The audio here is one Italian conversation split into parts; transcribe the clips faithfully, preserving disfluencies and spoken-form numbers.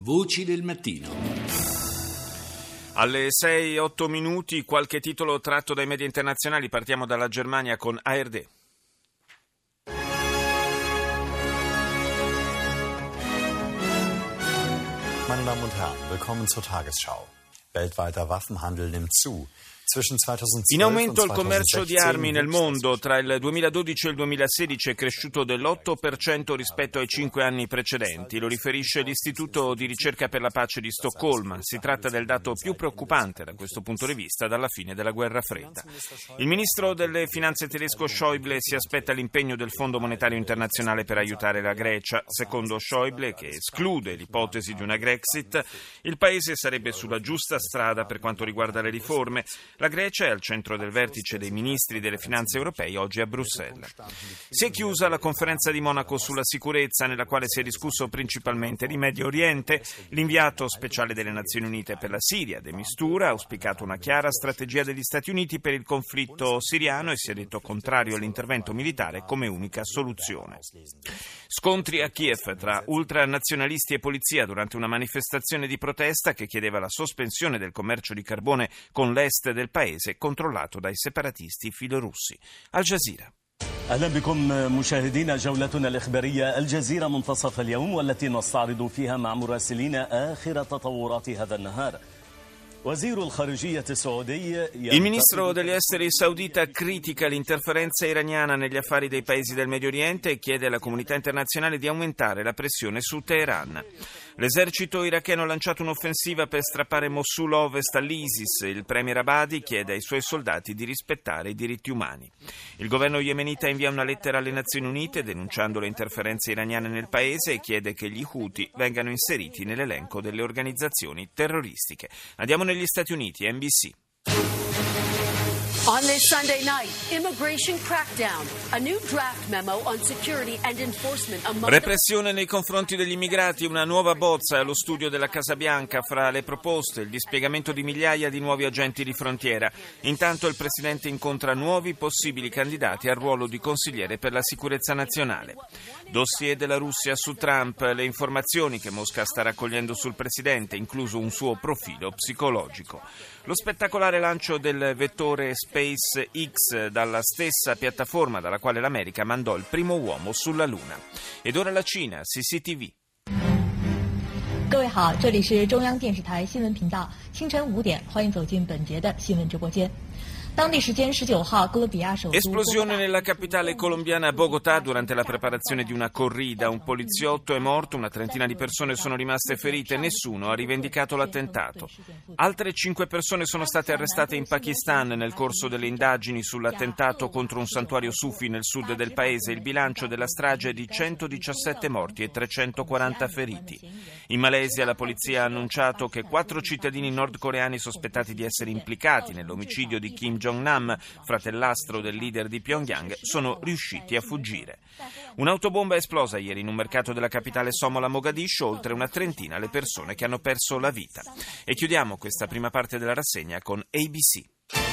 Voci del mattino. Alle sei e otto minuti, qualche titolo tratto dai media internazionali. Partiamo dalla Germania con A R D. Meine Damen und Herren, willkommen zur Tagesschau. Weltweiter Waffenhandel nimmt zu. In aumento il commercio di armi nel mondo. Tra il duemiladodici e il duemilasedici è cresciuto dell'otto per cento rispetto ai cinque anni precedenti. Lo riferisce l'Istituto di ricerca per la pace di Stoccolma. Si tratta del dato più preoccupante da questo punto di vista dalla fine della guerra fredda. Il ministro delle finanze tedesco Schäuble si aspetta l'impegno del Fondo monetario internazionale per aiutare la Grecia. Secondo Schäuble, che esclude l'ipotesi di una Grexit, il paese sarebbe sulla giusta strada per quanto riguarda le riforme. La Grecia è al centro del vertice dei ministri delle finanze europei oggi a Bruxelles. Si è chiusa la conferenza di Monaco sulla sicurezza, nella quale si è discusso principalmente di Medio Oriente. L'inviato speciale delle Nazioni Unite per la Siria, De Mistura, ha auspicato una chiara strategia degli Stati Uniti per il conflitto siriano e si è detto contrario all'intervento militare come unica soluzione. Scontri a Kiev tra ultranazionalisti e polizia durante una manifestazione di protesta che chiedeva la sospensione del commercio di carbone con l'est del paese controllato dai separatisti filorussi. Al Jazeera. أهلا بكم مشاهدينا جولتنا الإخبارية الجزيرة منتصف اليوم والتي نستعرض فيها مع مراسلين آخر تطورات هذا النهار. Il ministro degli esteri saudita critica l'interferenza iraniana negli affari dei paesi del Medio Oriente e chiede alla comunità internazionale di aumentare la pressione su Teheran. L'esercito iracheno ha lanciato un'offensiva per strappare Mosul Ovest all'ISIS. Il premier Abadi chiede ai suoi soldati di rispettare i diritti umani. Il governo yemenita invia una lettera alle Nazioni Unite denunciando le interferenze iraniane nel paese e chiede che gli Houthi vengano inseriti nell'elenco delle organizzazioni terroristiche. Andiamo negli Stati Uniti, N B C. On this Sunday night, immigration crackdown, a new draft memo on security and enforcement among Repressione nei confronti degli immigrati, una nuova bozza allo studio della Casa Bianca. Fra le proposte, il dispiegamento di migliaia di nuovi agenti di frontiera. Intanto il presidente incontra nuovi possibili candidati al ruolo di consigliere per la sicurezza nazionale. Dossier della Russia su Trump, le informazioni che Mosca sta raccogliendo sul presidente, incluso un suo profilo psicologico. Lo spettacolare lancio del vettore SpaceX dalla stessa piattaforma dalla quale l'America mandò il primo uomo sulla Luna. Ed ora la Cina, C C T V. 各位好，这里是中央电视台新闻频道，清晨五点，欢迎走进本节的新闻直播间。 Esplosione nella capitale colombiana Bogotà durante la preparazione di una corrida. Un poliziotto è morto, una trentina di persone sono rimaste ferite, nessuno ha rivendicato l'attentato. Altre cinque persone sono state arrestate in Pakistan nel corso delle indagini sull'attentato contro un santuario sufi nel sud del paese. Il bilancio della strage è di centodiciassette morti e trecentoquaranta feriti. In Malesia la polizia ha annunciato che quattro cittadini nordcoreani sospettati di essere implicati nell'omicidio di Kim Jong-nam, fratellastro del leader di Pyongyang, sono riusciti a fuggire. Un'autobomba è esplosa ieri in un mercato della capitale somala Mogadiscio, oltre una trentina le persone che hanno perso la vita. E chiudiamo questa prima parte della rassegna con A B C.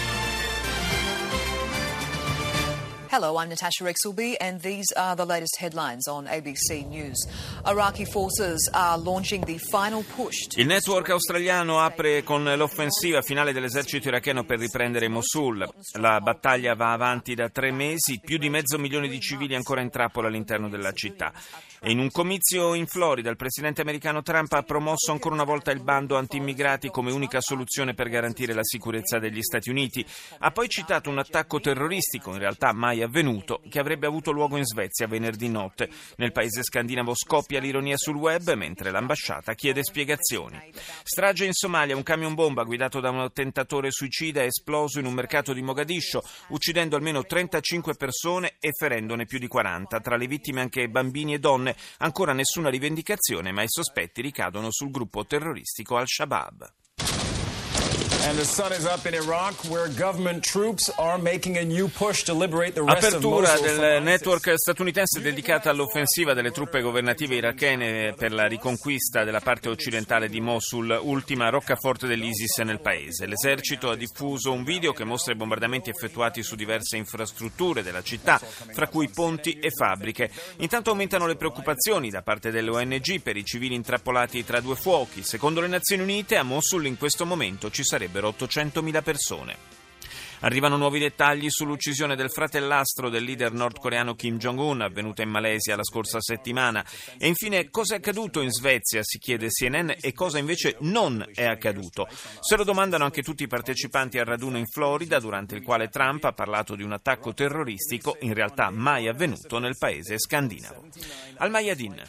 Hello, I'm Natasha Rexelby, and these are the latest headlines on A B C News. Iraqi forces are launching the final push. Il network australiano apre con l'offensiva finale dell'esercito iracheno per riprendere Mosul. La battaglia va avanti da tre mesi, più di mezzo milione di civili ancora in trappola all'interno della città. E in un comizio in Florida il presidente americano Trump ha promosso ancora una volta il bando anti-immigrati come unica soluzione per garantire la sicurezza degli Stati Uniti. Ha poi citato un attacco terroristico, in realtà mai avvenuto, che avrebbe avuto luogo in Svezia venerdì notte. Nel paese scandinavo scoppia l'ironia sul web mentre l'ambasciata chiede spiegazioni. Strage in Somalia, un camion bomba guidato da un attentatore suicida è esploso in un mercato di Mogadiscio, uccidendo almeno trentacinque persone e ferendone più di quaranta. Tra le vittime anche bambini e donne. Ancora nessuna rivendicazione, ma i sospetti ricadono sul gruppo terroristico Al-Shabaab. And the sun is up in Iraq, where government troops are making a new push to liberate the rest of Mosul. Apertura del network statunitense dedicata all'offensiva delle truppe governative irachene per la riconquista della parte occidentale di Mosul, ultima roccaforte dell'ISIS nel paese. L'esercito ha diffuso un video che mostra i bombardamenti effettuati su diverse infrastrutture della città, fra cui ponti e fabbriche. Intanto aumentano le preoccupazioni da parte delle O N G per i civili intrappolati tra due fuochi. Secondo le Nazioni Unite, a Mosul in questo momento ci sarebbero ottocentomila persone. Arrivano nuovi dettagli sull'uccisione del fratellastro del leader nordcoreano Kim Jong-un, avvenuta in Malesia la scorsa settimana. E infine, cosa è accaduto in Svezia, si chiede C N N, e cosa invece non è accaduto. Se lo domandano anche tutti i partecipanti al raduno in Florida, durante il quale Trump ha parlato di un attacco terroristico in realtà mai avvenuto nel paese scandinavo. Al Mayadin.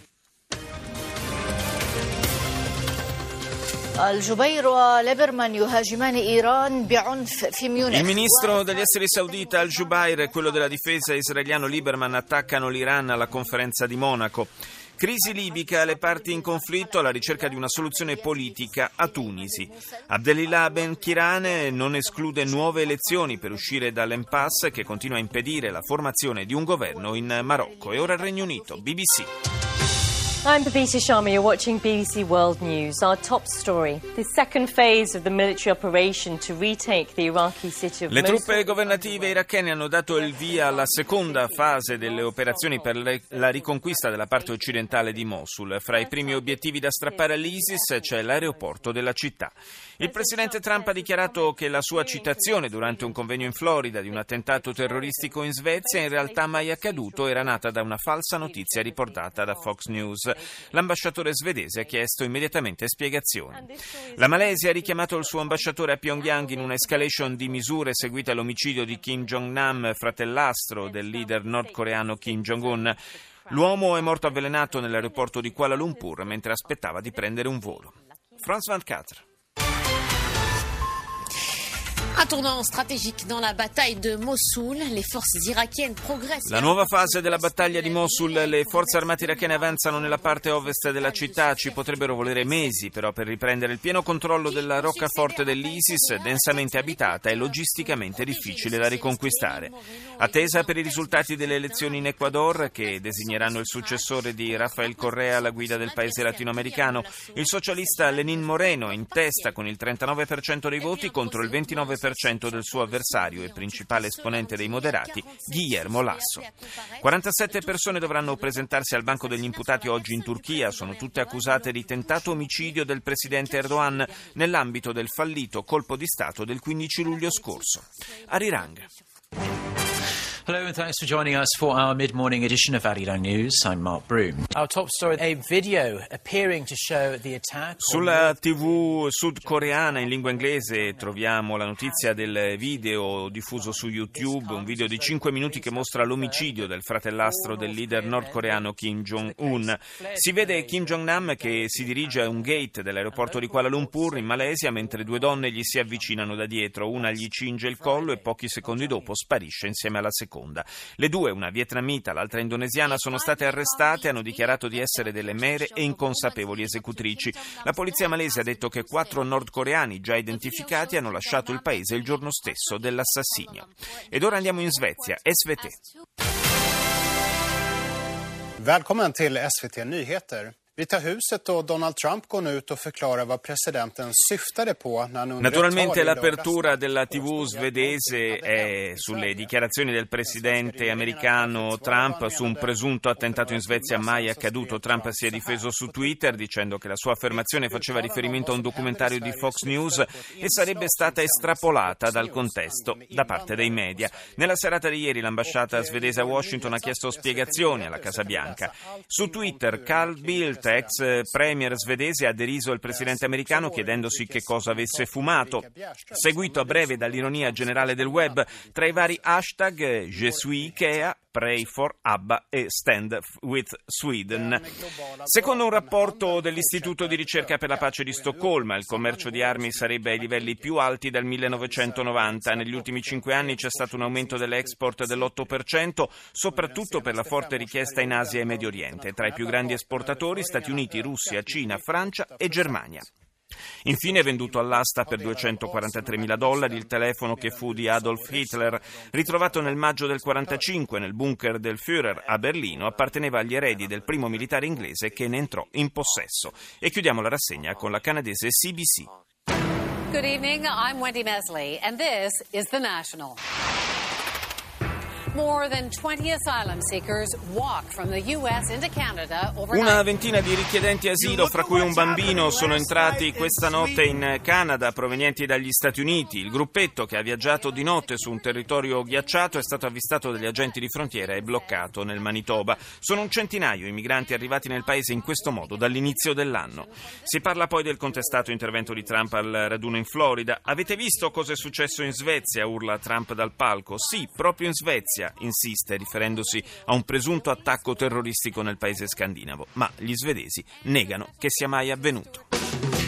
Il ministro degli esteri saudita Al-Jubair e quello della difesa israeliano Lieberman attaccano l'Iran alla conferenza di Monaco. Crisi libica, le parti in conflitto alla ricerca di una soluzione politica a Tunisi. Abdelillah Ben Kirane non esclude nuove elezioni per uscire dall'impasse che continua a impedire la formazione di un governo in Marocco. E ora il Regno Unito, B B C. I'm Babita Sharma, you're watching B B C World News. Our top story, the second phase of the military operation to retake the Iraqi city of Le Mosul. truppe governative irachene hanno dato il via alla seconda fase delle operazioni per le, la riconquista della parte occidentale di Mosul. Fra i primi obiettivi da strappare all'ISIS c'è l'aeroporto della città. Il presidente Trump ha dichiarato che la sua citazione durante un convegno in Florida di un attentato terroristico in Svezia in realtà mai accaduto era nata da una falsa notizia riportata da Fox News. L'ambasciatore svedese ha chiesto immediatamente spiegazioni. La Malesia ha richiamato il suo ambasciatore a Pyongyang in una escalation di misure seguite all'omicidio di Kim Jong-nam, fratellastro del leader nordcoreano Kim Jong-un. L'uomo è morto avvelenato nell'aeroporto di Kuala Lumpur mentre aspettava di prendere un volo. Franz van Katre. Un tournant stratégique dans la bataille de Mossoul, les forces irakiennes progressent. La nuova fase della battaglia di Mosul, le forze armate irachene avanzano nella parte ovest della città, ci potrebbero volere mesi però per riprendere il pieno controllo della roccaforte dell'ISIS, densamente abitata e logisticamente difficile da riconquistare. Attesa per i risultati delle elezioni in Ecuador, che designeranno il successore di Rafael Correa alla guida del paese latinoamericano, il socialista Lenín Moreno è in testa con il trentanove per cento dei voti contro il ventinove per cento del suo avversario e principale esponente dei moderati, Guillermo Lasso. quarantasette persone dovranno presentarsi al banco degli imputati oggi in Turchia, sono tutte accusate di tentato omicidio del presidente Erdogan nell'ambito del fallito colpo di Stato del quindici luglio scorso. Arirang. Hello and thanks for joining us for our mid-morning edition of Arirang News. I'm Mark Broom. Our top story, a video appearing to show the attack. Sulla tivù sudcoreana in lingua inglese troviamo la notizia del video diffuso su YouTube, un video di cinque minuti che mostra l'omicidio del fratellastro del leader nordcoreano Kim Jong-un. Si vede Kim Jong-nam che si dirige a un gate dell'aeroporto di Kuala Lumpur in Malesia mentre due donne gli si avvicinano da dietro, una gli cinge il collo e pochi secondi dopo sparisce insieme alla seconda. Le due, una vietnamita, l'altra indonesiana, sono state arrestate e hanno dichiarato di essere delle mere e inconsapevoli esecutrici. La polizia malese ha detto che quattro nordcoreani già identificati hanno lasciato il paese il giorno stesso dell'assassinio. Ed ora andiamo in Svezia. S V T. Välkommen till S V T Nyheter. Vita huset och Donald Trump går nu ut och förklarar vad presidenten syftade på när han under Naturalmente l'apertura della tivù svedese è sulle dichiarazioni del presidente americano Trump su un presunto attentato in Svezia mai accaduto. Trump si è difeso su Twitter dicendo che la sua affermazione faceva riferimento a un documentario di Fox News e sarebbe stata estrapolata dal contesto da parte dei media. Nella serata di ieri l'ambasciata svedese a Washington ha chiesto spiegazioni alla Casa Bianca. Su Twitter Carl Bildt, ex premier svedese, ha deriso il presidente americano chiedendosi che cosa avesse fumato, seguito a breve dall'ironia generale del web tra i vari hashtag Je suis Ikea, Pray for ABBA e Stand with Sweden. Secondo un rapporto dell'Istituto di ricerca per la pace di Stoccolma, il commercio di armi sarebbe ai livelli più alti dal millenovecentonovanta. Negli ultimi cinque anni c'è stato un aumento dell'export dell'otto per cento, soprattutto per la forte richiesta in Asia e Medio Oriente. Tra i più grandi esportatori Stati Uniti, Russia, Cina, Francia e Germania. Infine è venduto all'asta per duecentoquarantatremila dollari il telefono che fu di Adolf Hitler, ritrovato nel maggio del quarantacinque nel bunker del Führer a Berlino, apparteneva agli eredi del primo militare inglese che ne entrò in possesso. E chiudiamo la rassegna con la canadese C B C. Good evening, I'm Wendy Mesley, and this is The National. More than twenty asylum seekers walked from the U S into Canada overnight. Una ventina di richiedenti asilo, fra cui un bambino, sono entrati questa notte in Canada provenienti dagli Stati Uniti. Il gruppetto, che ha viaggiato di notte su un territorio ghiacciato, è stato avvistato dagli agenti di frontiera e bloccato nel Manitoba. Sono un centinaio i migranti arrivati nel paese in questo modo dall'inizio dell'anno. Si parla poi del contestato intervento di Trump al raduno in Florida. Avete visto cosa è successo in Svezia? Urla Trump dal palco. Sì, proprio in Svezia, insiste, riferendosi a un presunto attacco terroristico nel paese scandinavo, ma gli svedesi negano che sia mai avvenuto.